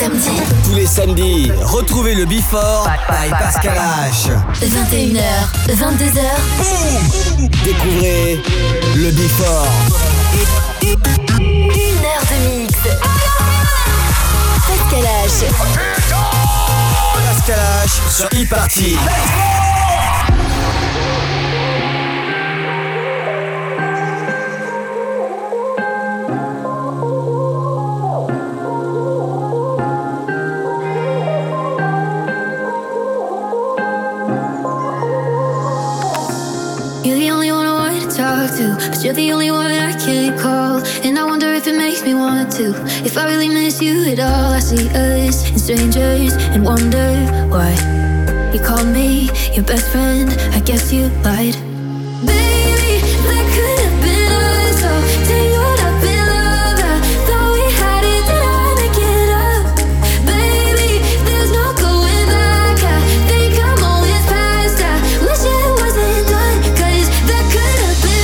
samedis. Tous les samedis, retrouvez le Before by Pascal H. 21h, 22h. Boum! Découvrez le Before. 1 heure de mix. Pascal H. Pascal H sur e-party. But you're the only one I can't call. And I wonder if it makes me want to. If I really miss you at all. I see us and strangers and wonder why you called me your best friend. I guess you lied. Baby, that could have been us. So tangled up in love. I thought we had it, did I make it up? Baby, there's no going back. I think I'm always past. I wish it wasn't done. Cause that could have been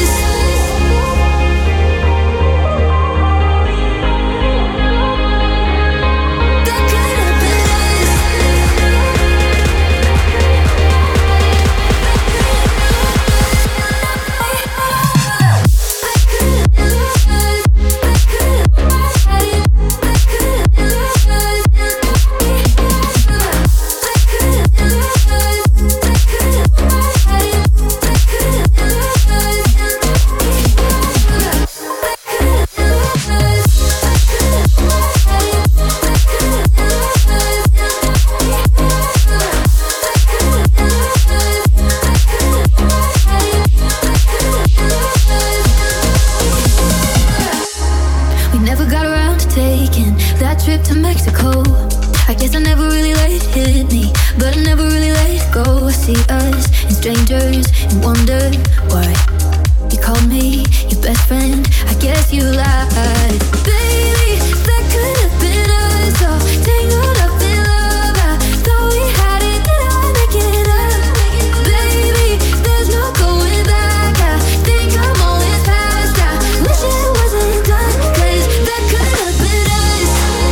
to Mexico. I guess I never really let it hit me, but I never really let it go. I see us and strangers and wonder why you called me your best friend. I guess you lied. Baby, that could have been us. All tangled up in love. I thought we had it, did I make it up? Baby, there's no going back. I think I'm always past. I wish it wasn't done. Cause that could have been us.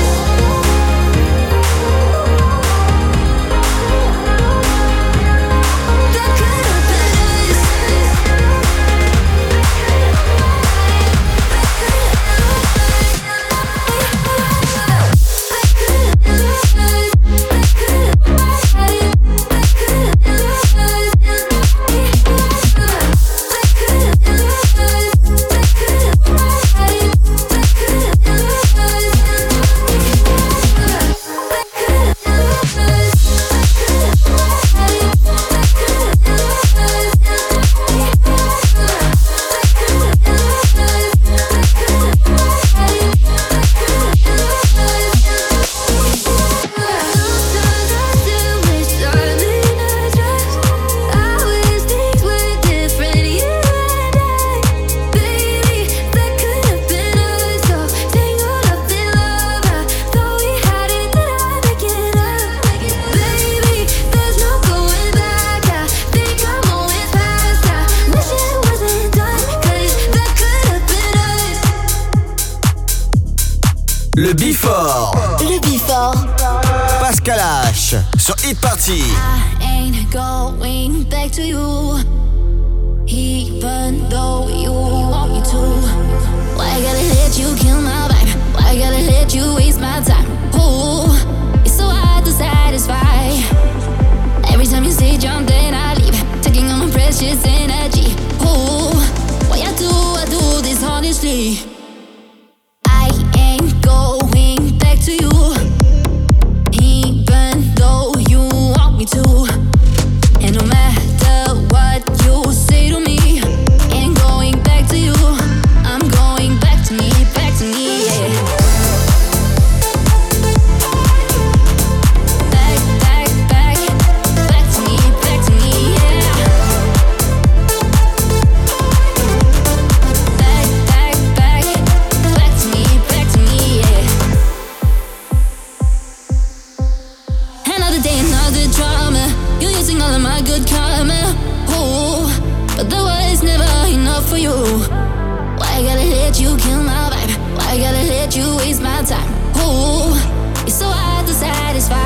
Le Before. Le Before. Pascal H sur e-party. I ain't going back to you, even though you want me to. Why I gotta let you kill my vibe? Why I gotta let you waste my time? Ooh, it's so hard to satisfy. Every time you say jump, then I leave, taking all my precious energy. Ooh, why I do this honestly? I ain't going back to you, even though you want me to. And no matter what you say to me, ain't going back to you. I'm going back to me, yeah. Back to me, yeah. Back to me, yeah. Another day, another drama. You're using all of my good karma. Oh, but that was never enough for you. Why I gotta let you kill my vibe? Why I gotta let you waste my time? Oh, it's so hard to satisfy.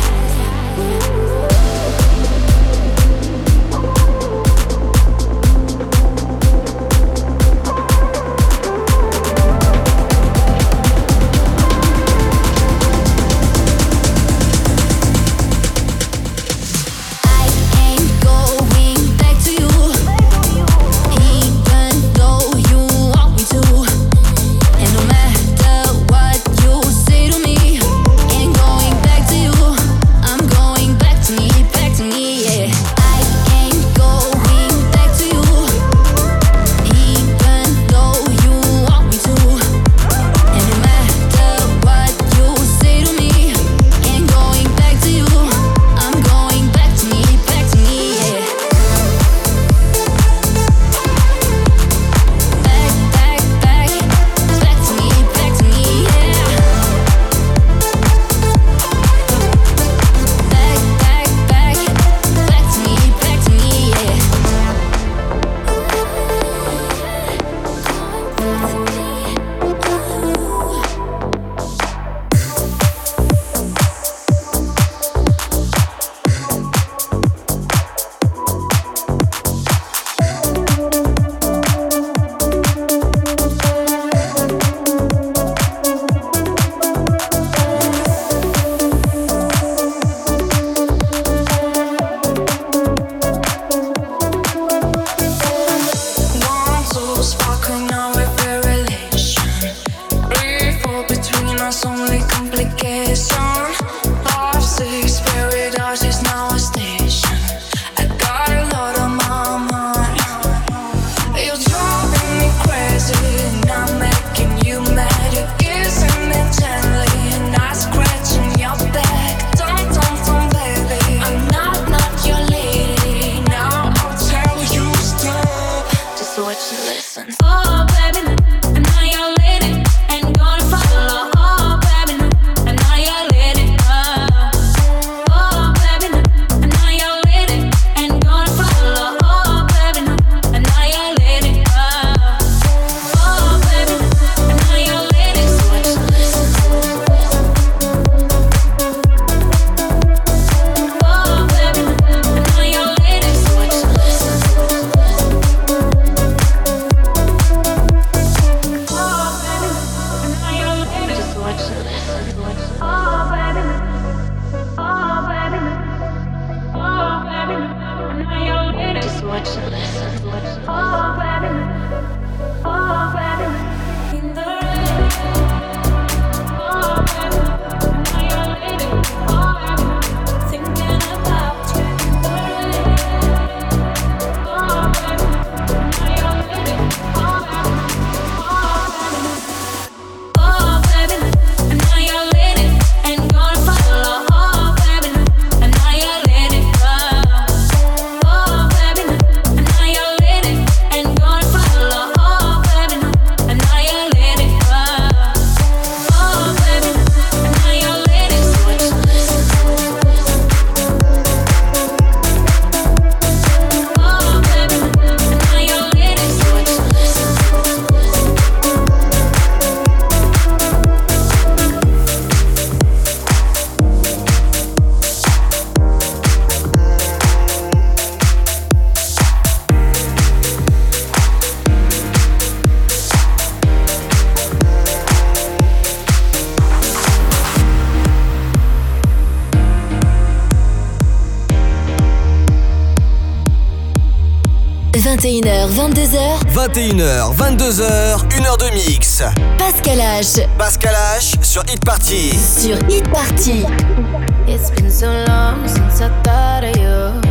h 22h. 21h, 22h, 1h de mix. Pascal H. Pascal H sur Hit Party. Sur Hit Party. It's been so long since I thought of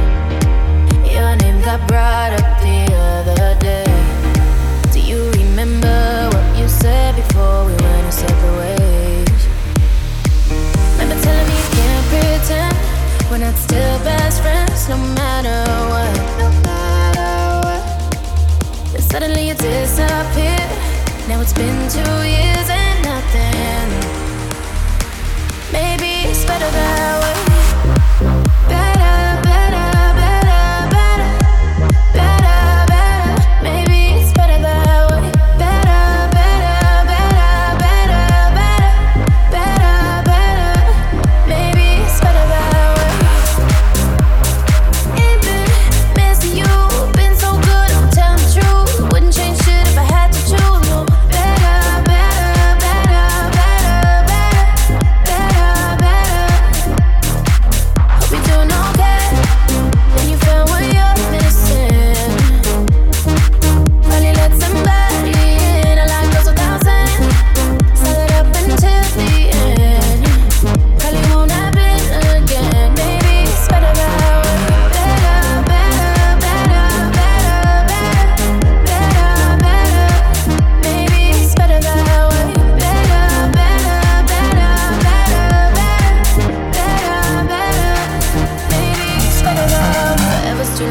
you. Your name got brought up the other day. Do you remember what you said before we went our separate ways? Remember telling me you can't pretend we're not still best friends no matter what. No matter what. Then suddenly you disappeared. Now it's been 2 years and nothing. Maybe it's better that way. Better, better, better, better, better, better. Maybe it's better that way. Better, better, better, better, better, better, better.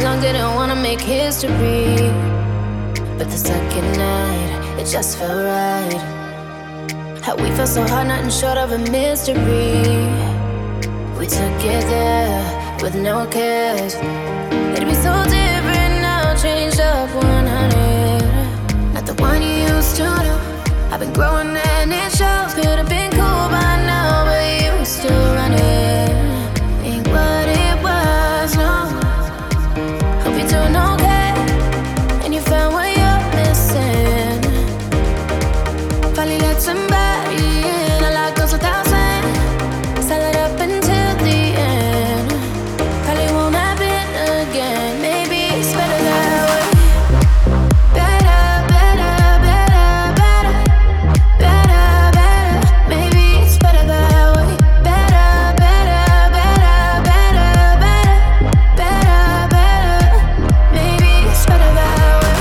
young, didn't wanna make history. But the second night, it just felt right. How we felt so hard, nothing short of a mystery. We took it there with no cares. It'd be so different now, changed up 100. Not the one you used to know. I've been growing and it shows. Could've been cool by now, but you were still running. Ain't what it was, no. Hope you're doing okay, and you found what you're missing. Finally let somebody in. A lot goes without saying. Sell it up until the end. Probably won't happen again. Maybe it's better that way. Better, better, better, better. Better, better. Maybe it's better that way. Better, better, better, better, better. Better, better. Maybe it's better that way.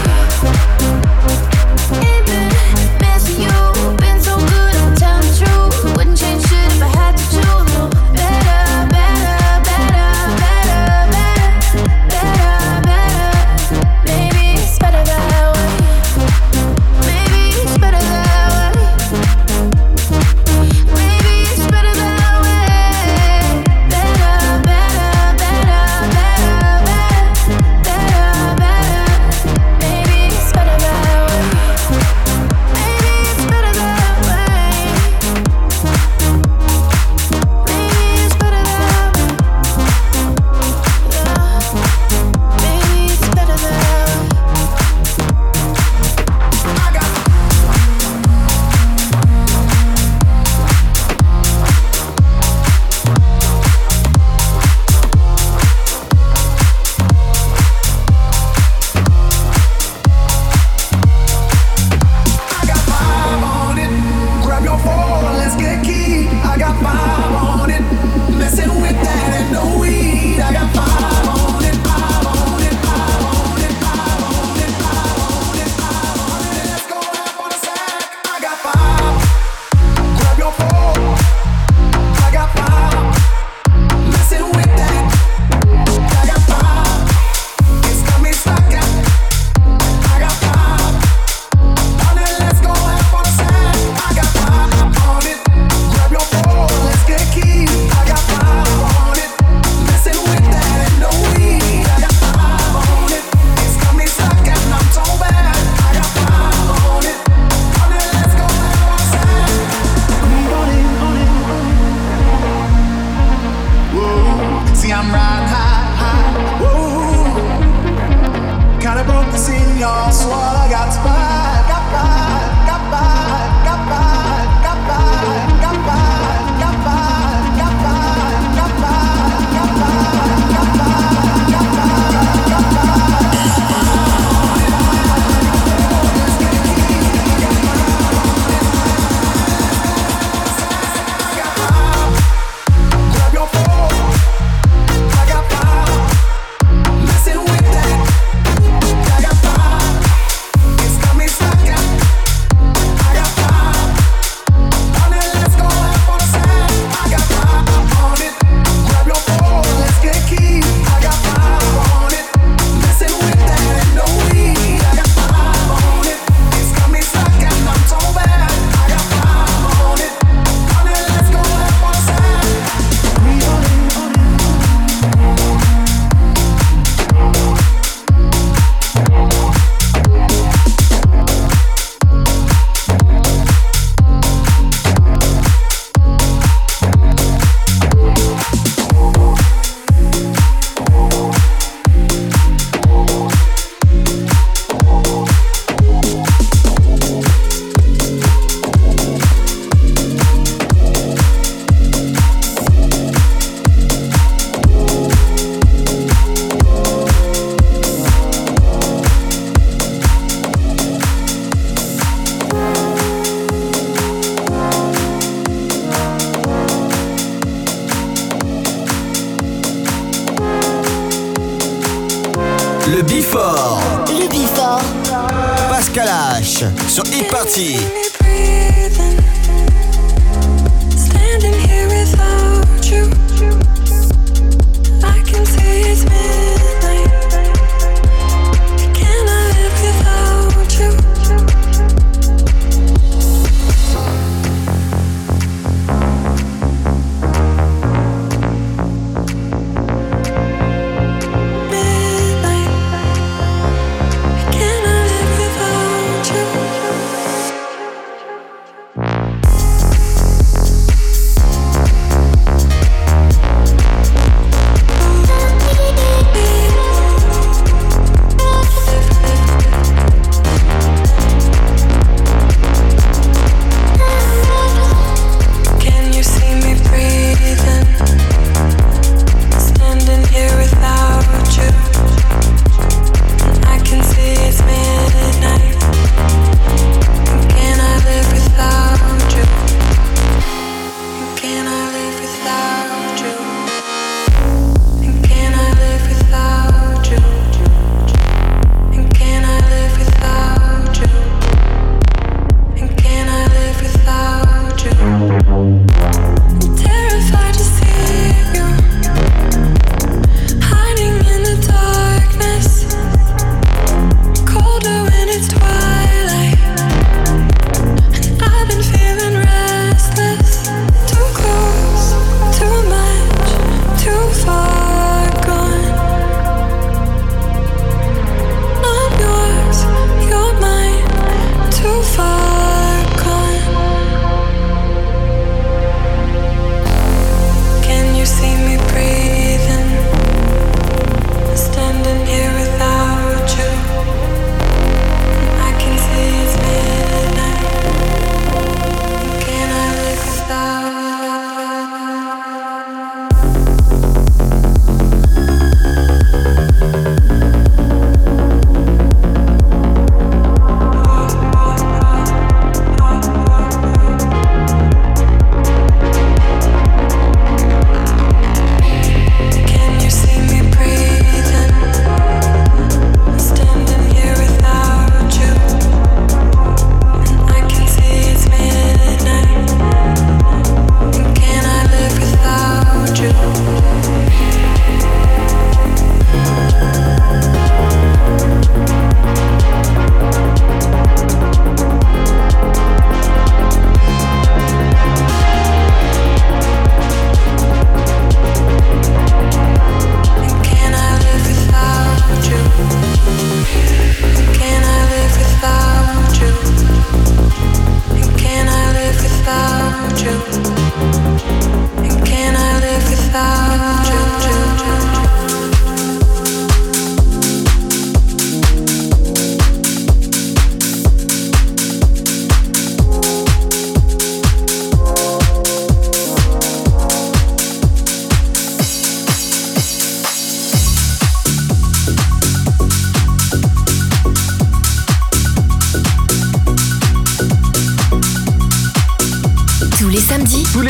Ain't been missing you. Been so good, I'm telling the truth. Wouldn't change shit if I had to choose. No. Better, better, better, better, better. Better, better. Maybe it's better that way. Maybe it's better that way. Maybe it's better that way. Better, better, better, better, better. Better, better. Maybe it's better that way. Maybe it's better that way. Maybe it's better that way. Yeah. Maybe it's better that way. I got 5 on it. Grab your phone, let's get key. I got 5 on it. Messing with that and no weed. I got 5 on it. 5 on it. 5 on it. 5 on it. 5 on it. 5 on it. Let's go half on a sack. I got 5. Grab your phone. I got 5. Messing with that. I got 5. It's got me stuck at. I got 5. Let's go half on a sack. I got 5 on it. Grab your phone, let's get key. I got 5 on it. Messing with that and no weed. I got 5 on it. It's got me stuck and I'm so bad. I got 5 on it. Let's go half on a sack. Whoa, see I'm riding high, high. Whoa, kinda broke the scene, y'all. So all I got is 5. Got 5, got 5, got 5, got 5, got 5, got 5, got 5, got 5, got 5, got 5, got 5, got 5. Grab your phone. I got 5. Messing with that. I got 5. It's got me stuck at. I got 5. Let's go half on a sack. I got 5 on it. Grab your phone, let's get key. I got 5 on it. Messing with that and no weed. I got 5 on it. It's got me stuck and I'm so bad. I got 5 on it. Let's go half on a sack. Le Before. Le Before. Pascal H sur Hit Party. Standing here without you, I can see it's midnight.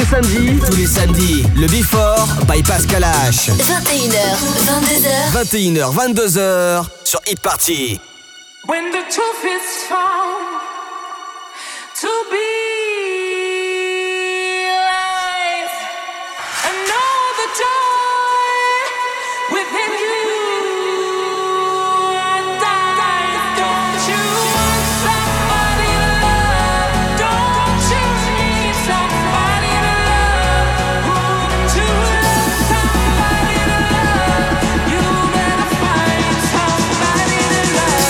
Tous les samedis, le Before by Pascal H. 21h, 22h. 21h, 22h sur Hit Party. When the truth is found to be lies, and know the joy within you. Don't you want somebody to love? Don't you need somebody to love? Wouldn't you love somebody to love? You better find somebody to love.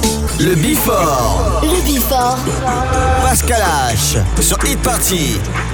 Pascal H sur Hit Party.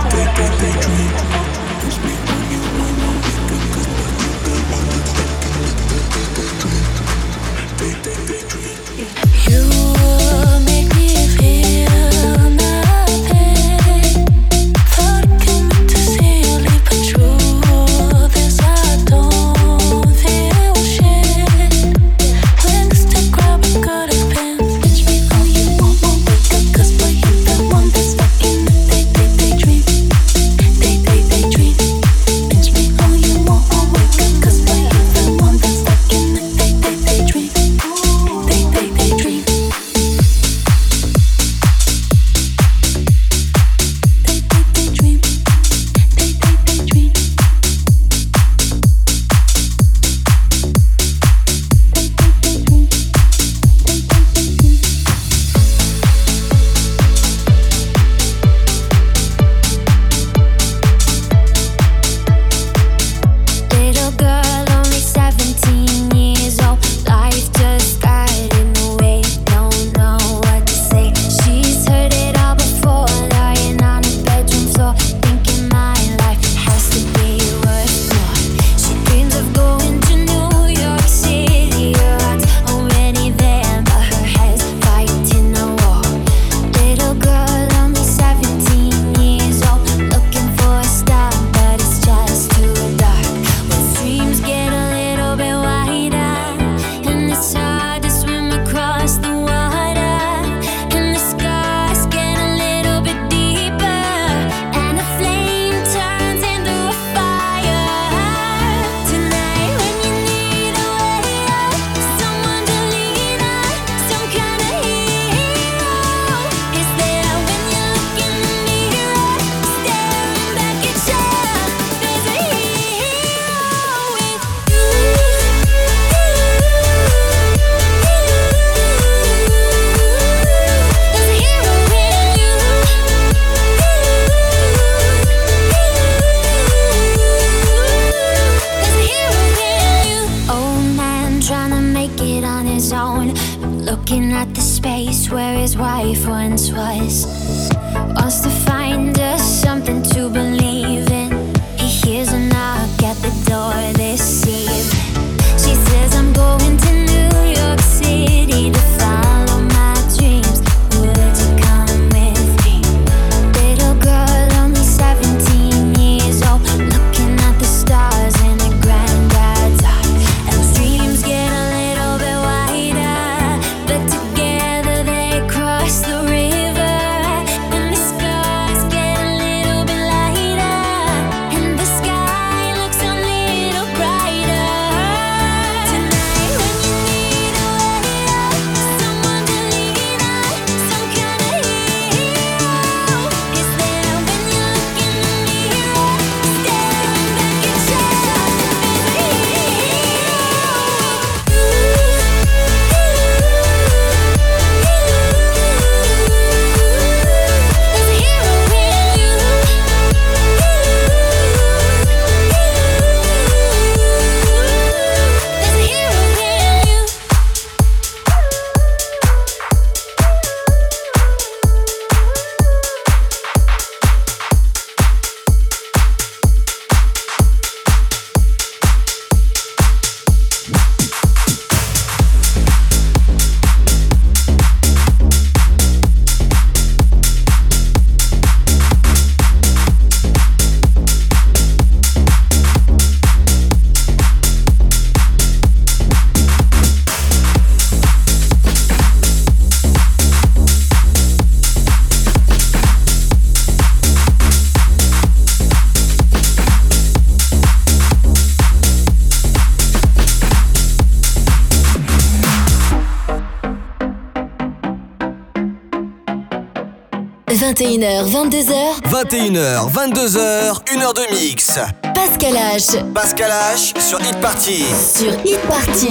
21h, 22h. 21h, 22h, 1h de mix. Pascal H. Pascal H sur Hit Party. Sur Hit Party.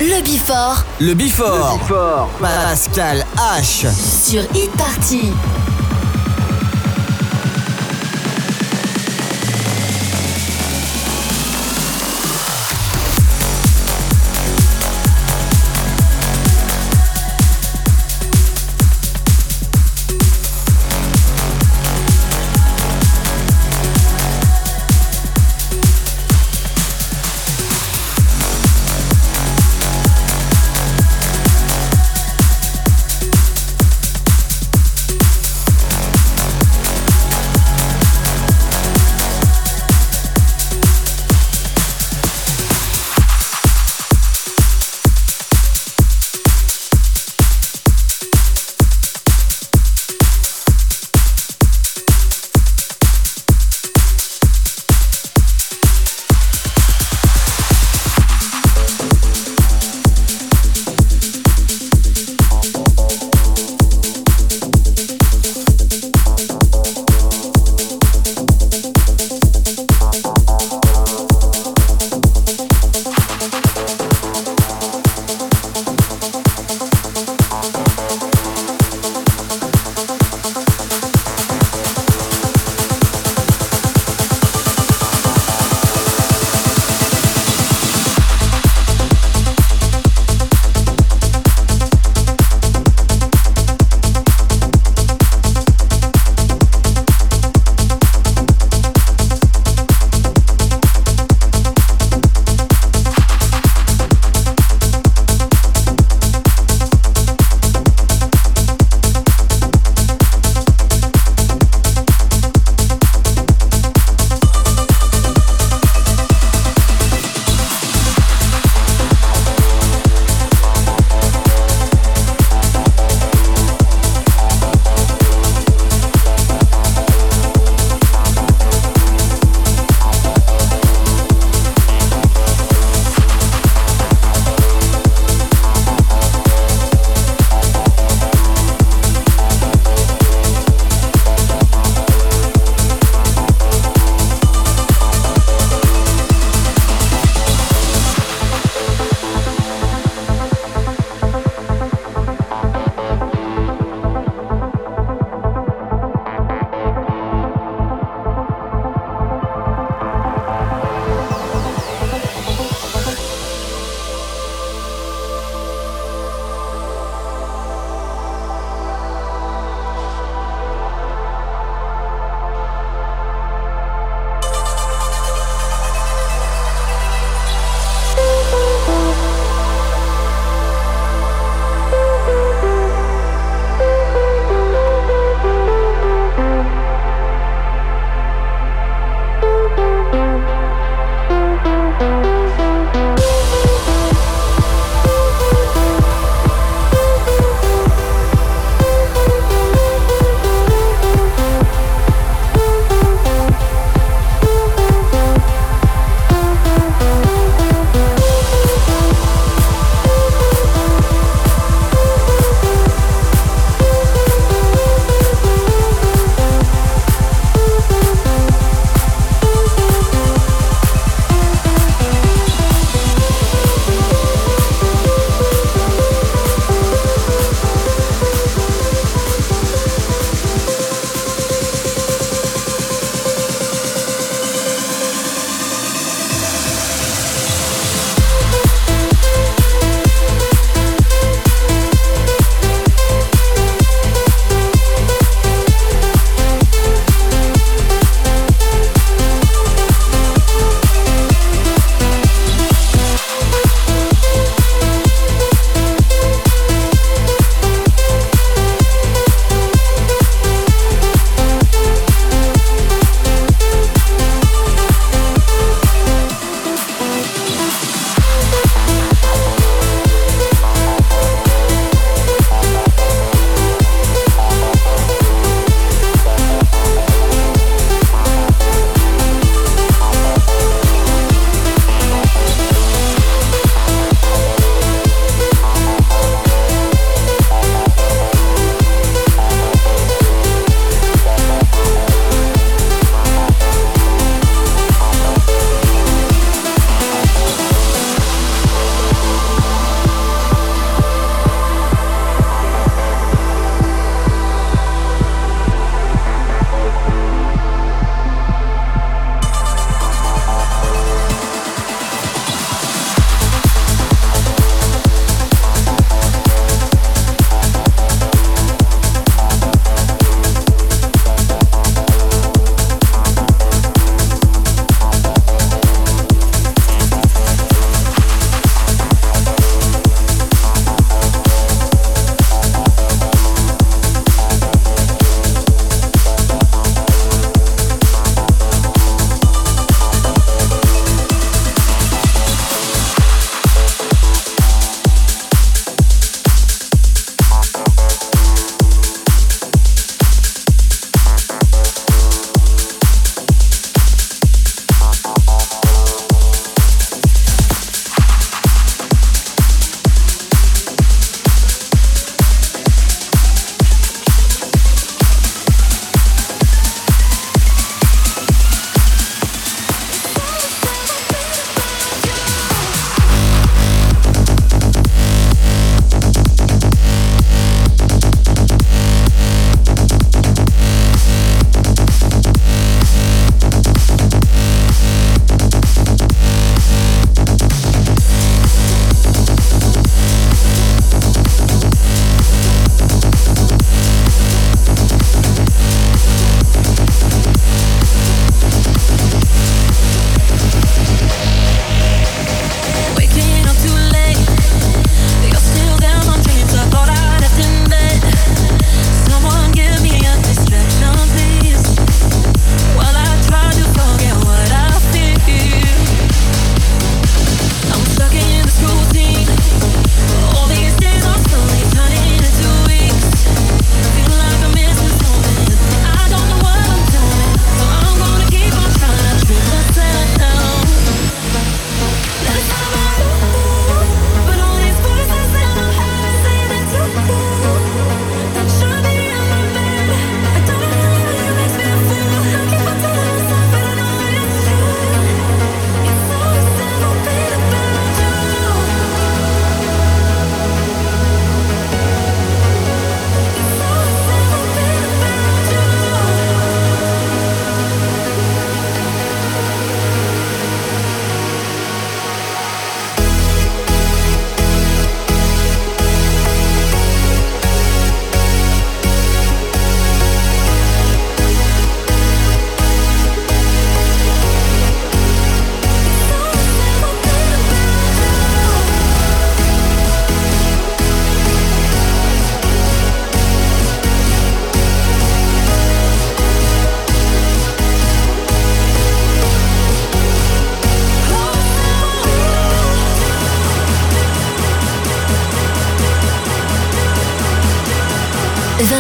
Le Before Le Before. Pascal H. sur Hit Party.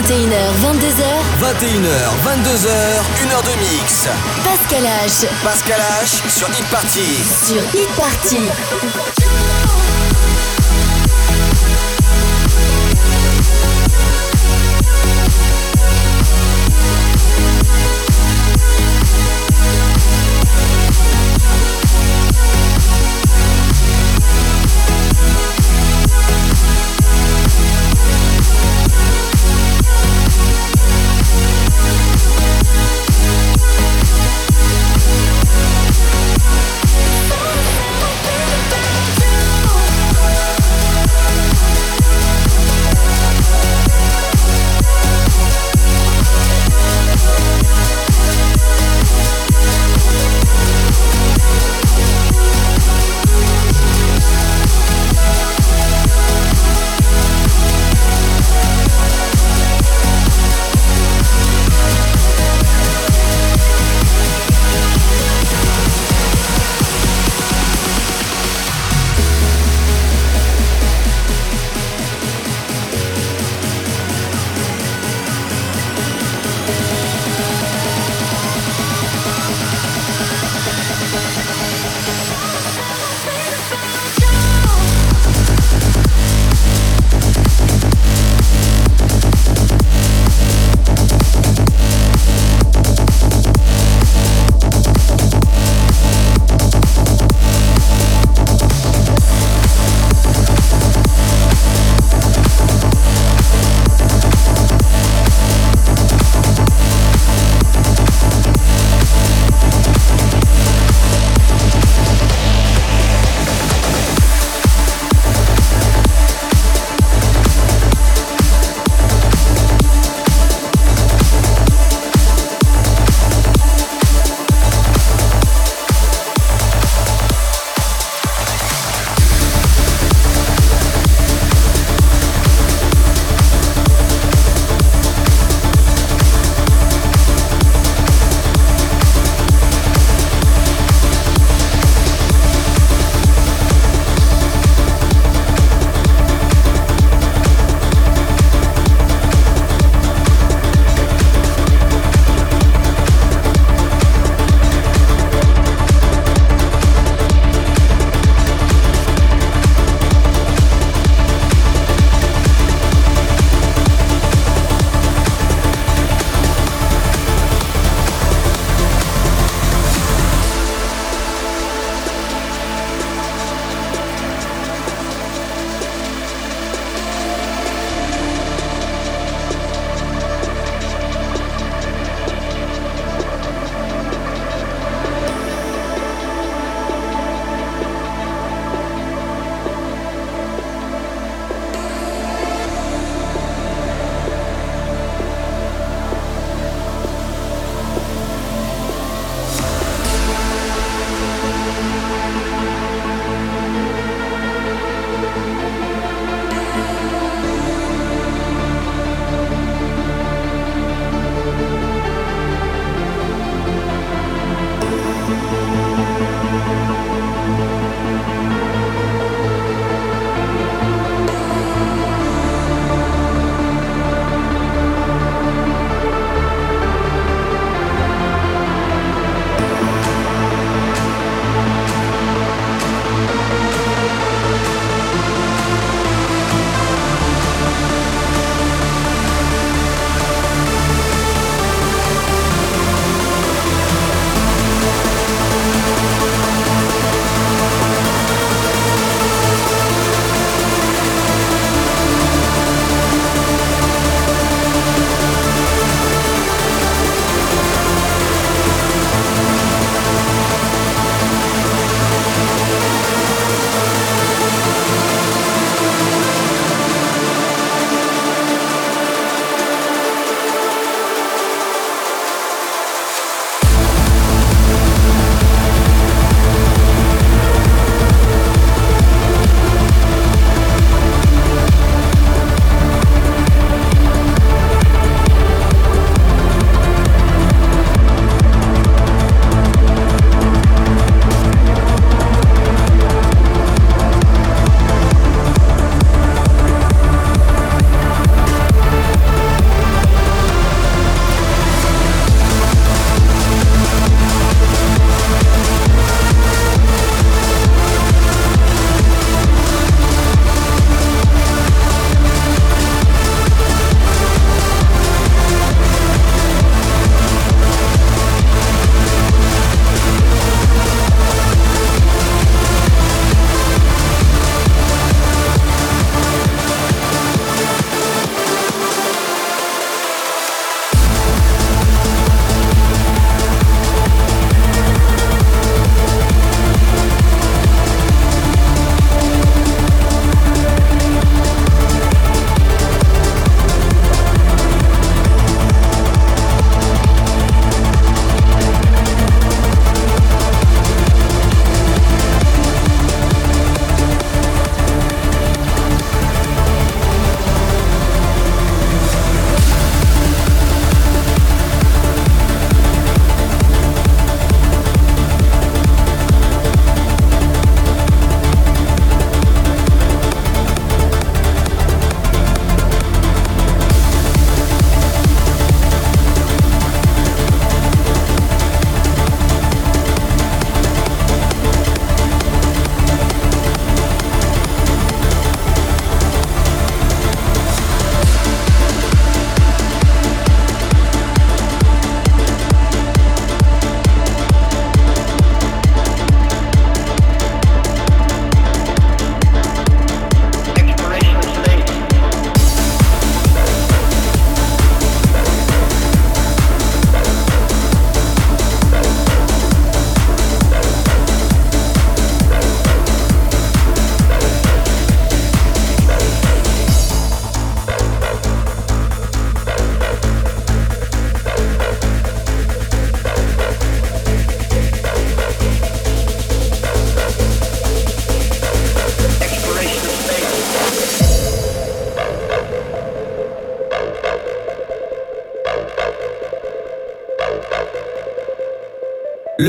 21h, 22h. 21h, 22h, 1h de mix. Pascal H. Pascal H sur Hit Party. Sur Hit Party.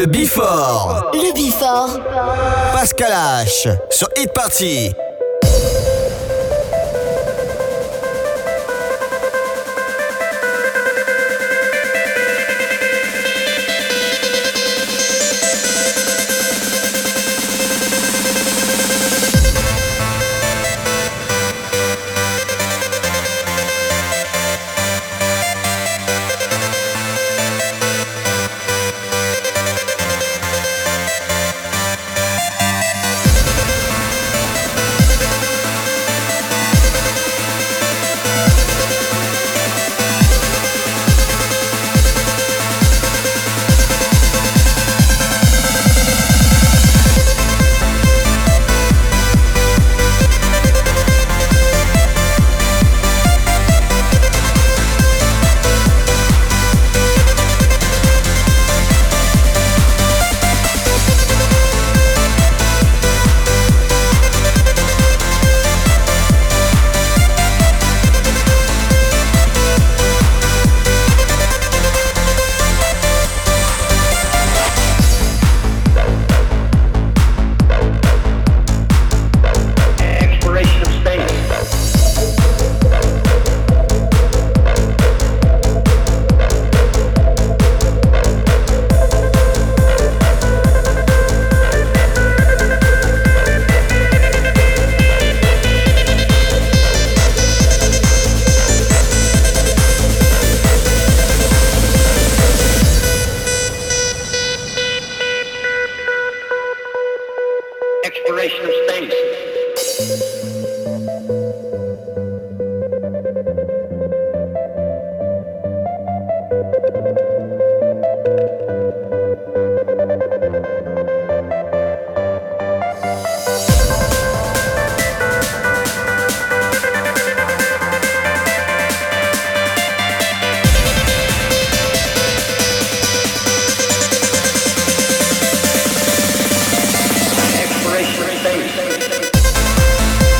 Before. Le Before. Pascal H sur Hit Party. Exploration space.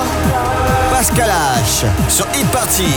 Pascal H sur Hit Party.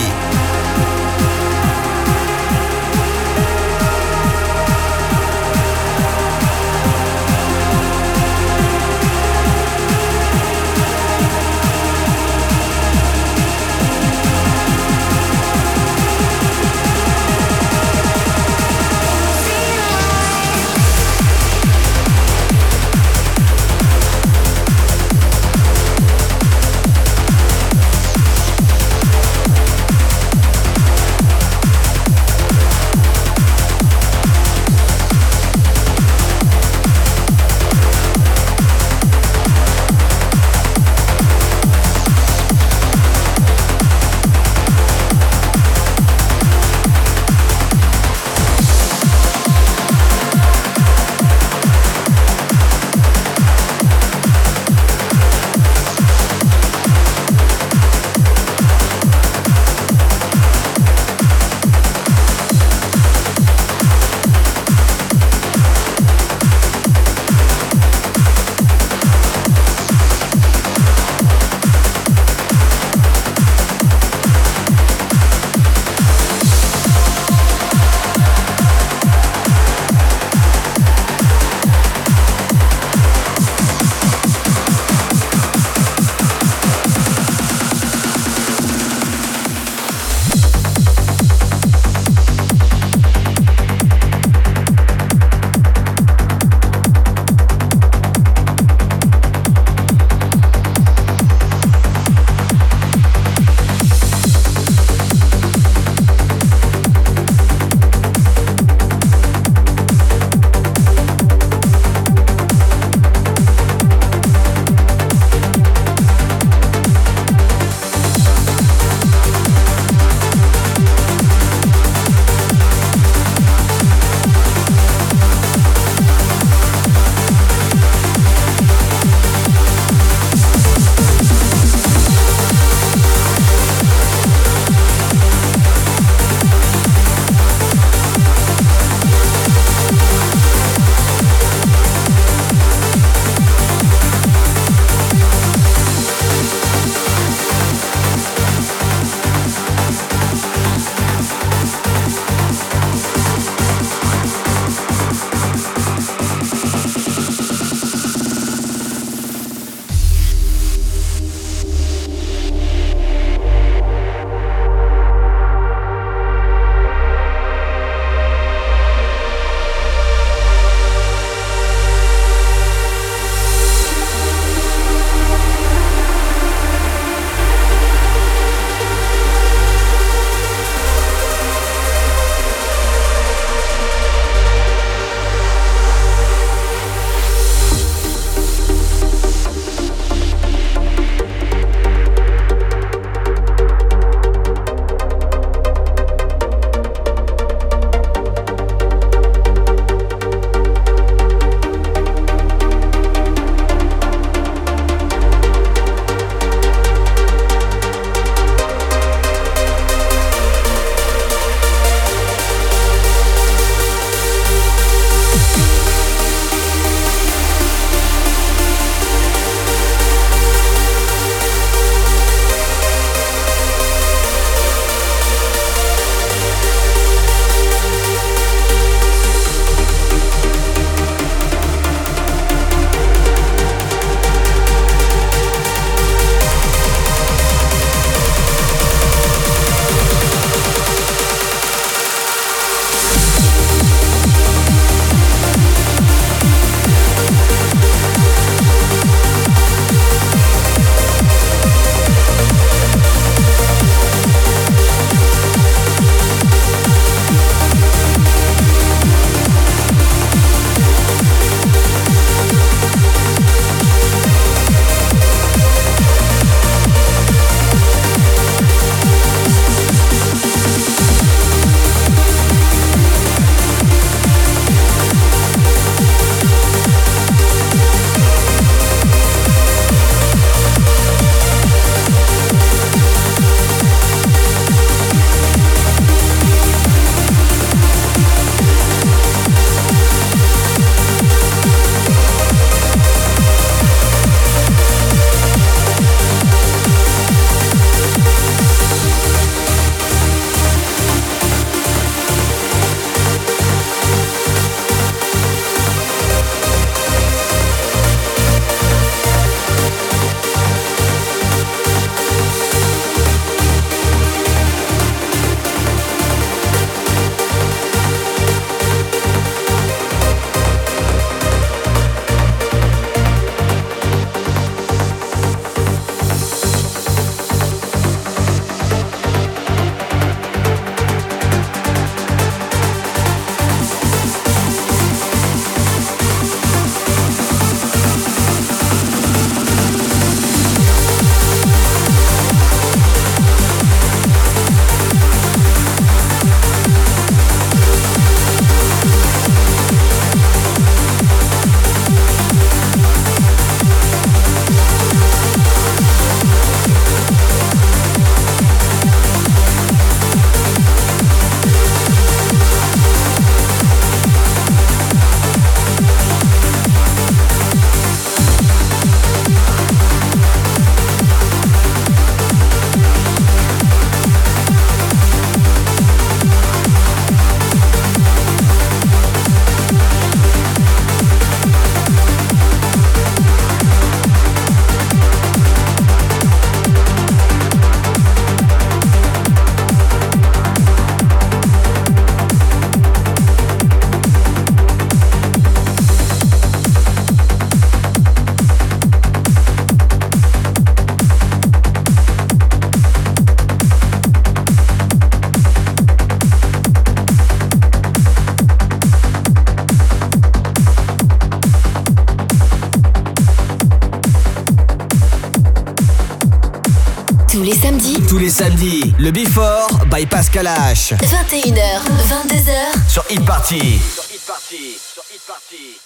Tous les samedis, le Before by Pascal H. 21h, 22h. Sur Hit Party.